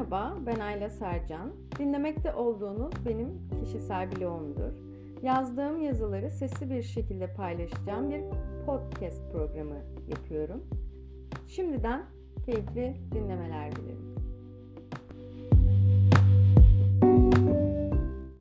Merhaba, ben Ayla Sercan. Dinlemekte olduğunuz benim kişisel blogumdur. Yazdığım yazıları sesli bir şekilde paylaşacağım bir podcast programı yapıyorum. Şimdiden keyifli dinlemeler dilerim.